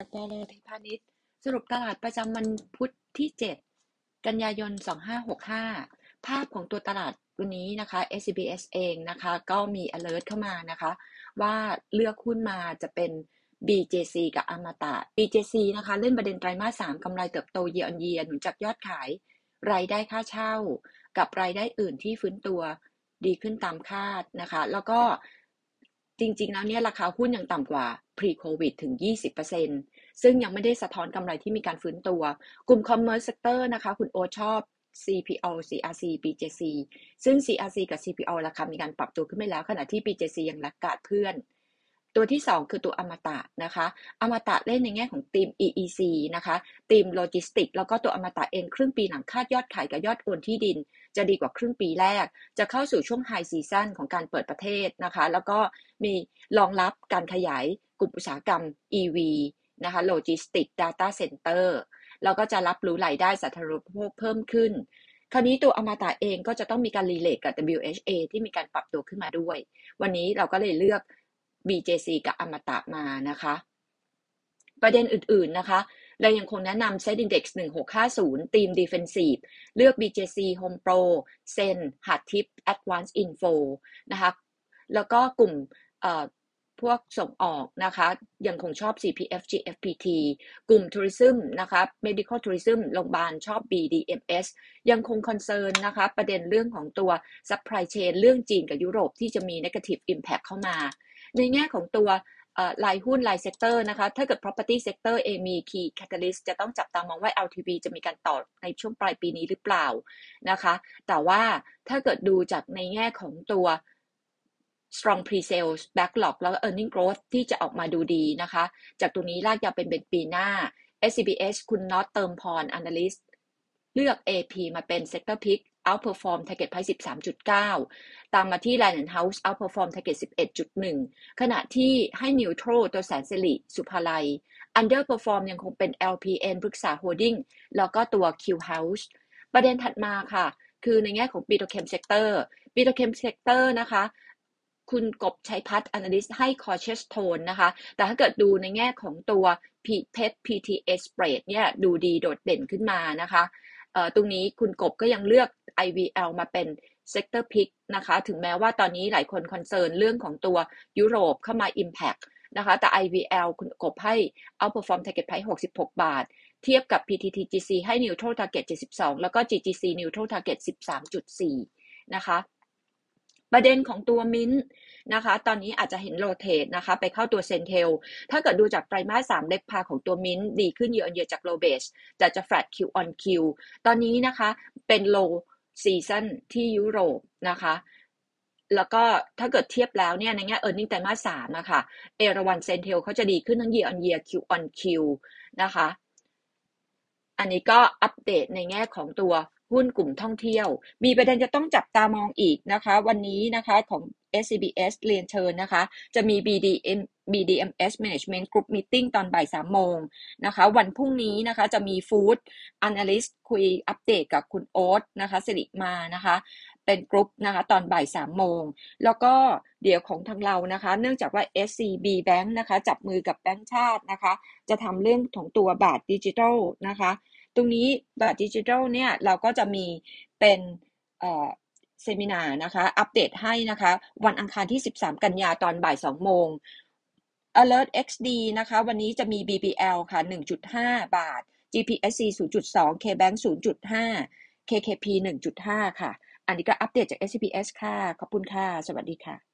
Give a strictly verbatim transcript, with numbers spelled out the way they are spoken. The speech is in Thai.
อัตราแลที่พาณิชย์สรุปตลาดประจำวันพุธที่เจ็ดกันยายนสองพันห้าร้อยหกสิบห้าภาพของตัวตลาดวันนี้นะคะ เอส ซี บี เอส เองนะคะก็มี alert เข้ามานะคะว่าเลือกหุ้นมาจะเป็น บี เจ ซี กับอมตะ บี เจ ซี นะคะเล่นประเด็นไตรมาสสามกำไรเติบโต year on year หนุนจากยอดขายรายได้ค่าเช่ากับรายได้อื่นที่ฟื้นตัวดีขึ้นตามคาดนะคะแล้วก็จริงๆแล้วเนี่ยราคาหุ้นยังต่ำกว่า pre covid ถึง ยี่สิบเปอร์เซ็นต์ ซึ่งยังไม่ได้สะท้อนกำไรที่มีการฟื้นตัวกลุ่ม commerce sector นะคะคุณโอชอบ ซี พี โอ ซี อาร์ ซี บี เจ ซี ซึ่ง ซี อาร์ ซี กับ ซี พี โอ ราคามีการปรับตัวขึ้นไปแล้วขณะที่ บี เจ ซี ยังลักกาดเพื่อนตัวที่สองคือตัวอมตะนะคะอมตะเล่นในแง่ของทีม อี อี ซี นะคะทีมโลจิสติกแล้วก็ตัวอมตะเองครึ่งปีหลังคาดยอดขายกับยอดโอนที่ดินจะดีกว่าครึ่งปีแรกจะเข้าสู่ช่วงไฮซีซั่นของการเปิดประเทศนะคะแล้วก็มีรองรับการขยายกลุ่มอุตสาหกรรม อี วี นะคะโลจิสติก Data Center แล้วก็จะรับรู้รายได้สาธารณูปโภคเพิ่มขึ้นคราวนี้ตัวอมตะเองก็จะต้องมีการรีเลทกับ ดับเบิลยู เอช เอ ที่มีการปรับตัวขึ้นมาด้วยวันนี้เราก็เลยเลือก บี เจ ซี กับอมตะมานะคะประเด็นอื่นๆนะคะเรายังคงแนะนำ Set Index หนึ่งหกห้าศูนย์ Team Defensive เลือก บี เจ ซี Home Pro Zen Hardtip Advanced Info นะคะแล้วก็กลุ่มพวกส่งออกนะคะยังคงชอบ ซี พี เอฟ จี เอฟ พี ที กลุ่ม Tourism นะคะ Medical Tourism โรงพยาบาลชอบ บี ดี เอ็ม เอส ยังคง concern นะคะประเด็นเรื่องของตัว supply chain เรื่องจีนกับยุโรปที่จะมี negative impact เข้ามาในแง่ของตัวรายหุ้นรายเซกเตอร์นะคะถ้าเกิด property sector เองมี key catalyst จะต้องจับตามองว่า แอล ที วี จะมีการต่อในช่วงปลายปีนี้หรือเปล่านะคะแต่ว่าถ้าเกิดดูจากในแง่ของตัว strong pre-sales backlog แล้วก็ earning growth ที่จะออกมาดูดีนะคะจากตรงนี้ลากยาวเป็นเป็นปีหน้า เอส ซี บี เอส คุณน็อตเติมพร analyst เลือก เอ พี มาเป็น sector pick outperform target price สิบสามจุดเก้า ตามมาที่ Lion House outperform target สิบเอ็ดจุดหนึ่ง ขณะที่ให้ neutral ตัวแสนสิริสุภาลัย underperform ยังคงเป็น แอล พี เอ็น พฤกษา holding แล้วก็ตัว Q House ประเด็นถัดมาค่ะคือในแง่ของ Petrochem sector Petrochem sector นะคะคุณกบชัยพัฒน์ analyst ให้ cautious tone นะคะแต่ถ้าเกิดดูในแง่ของตัว เพ อี ที พี ที เอ spread เนี่ยดูดีโดดเด่นขึ้นมานะคะตรงนี้คุณกบก็ยังเลือก ไอ วี แอล มาเป็น sector pick นะคะถึงแม้ว่าตอนนี้หลายคนคอนเซิร์นเรื่องของตัวยุโรปเข้ามา impact นะคะแต่ ไอ วี แอล คุณกบให้ outperform target price หกสิบหกบาทเทียบกับ พี ที ที จี ซี ให้ neutral target เจ็ดสิบสองแล้วก็ จี จี ซี neutral target สิบสามจุดสี่นะคะประเด็นของตัวมิ้นนะคะตอนนี้อาจจะเห็นโรเทตนะคะไปเข้าตัวเซนเทลถ้าเกิดดูจากไตรมาสสามเล็กพาของตัวมิ้นดีขึ้นเยอะๆจากโลเบสแต่จะ flat Q on Q ตอนนี้นะคะเป็น low season ที่ยุโรปนะคะแล้วก็ถ้าเกิดเทียบแล้วเนี่ยในแง่ earning ไตรมาสสามนะคะเอราวัณเซนเทลเขาจะดีขึ้นทั้ง year on year Q on Q นะคะอันนี้ก็อัปเดตในแง่ของตัวหุ้นกลุ่มท่องเที่ยวมีประเด็นจะต้องจับตามองอีกนะคะวันนี้นะคะของ เอส ซี บี เอส เรียนเชิญนะคะจะมี บี ดี เอ็ม บี ดี เอ็ม เอส Management Group Meeting ตอนบ่ายสามโมงนะคะวันพรุ่งนี้นะคะจะมี Food Analyst คุยอัปเดตกับคุณโอ๊ตนะคะสิริมานะคะเป็นกรุ๊ปนะคะตอนบ่ายสามโมงแล้วก็เดี๋ยวของทางเรานะคะเนื่องจากว่า เอส ซี บี Bank นะคะจับมือกับแบงก์ชาตินะคะจะทำเรื่องของตัวบาทดิจิทัลนะคะตรงนี้บาทดิจิทัลเนี่ยเราก็จะมีเป็นเอ่อเซมินาร์นะคะอัปเดตให้นะคะวันอังคารที่สิบสามกันยาตอนบ่ายสองโมง Alert เอ็กซ์ ดี นะคะวันนี้จะมี บี บี แอล ค่ะ หนึ่งจุดห้า บาท จี พี เอส ซี ศูนย์จุดสอง K-Bank ศูนย์จุดห้า เค เค พี หนึ่งจุดห้า ค่ะอันนี้ก็อัปเดตจาก เอส ซี บี เอส ค่ะขอบคุณค่ะสวัสดีค่ะ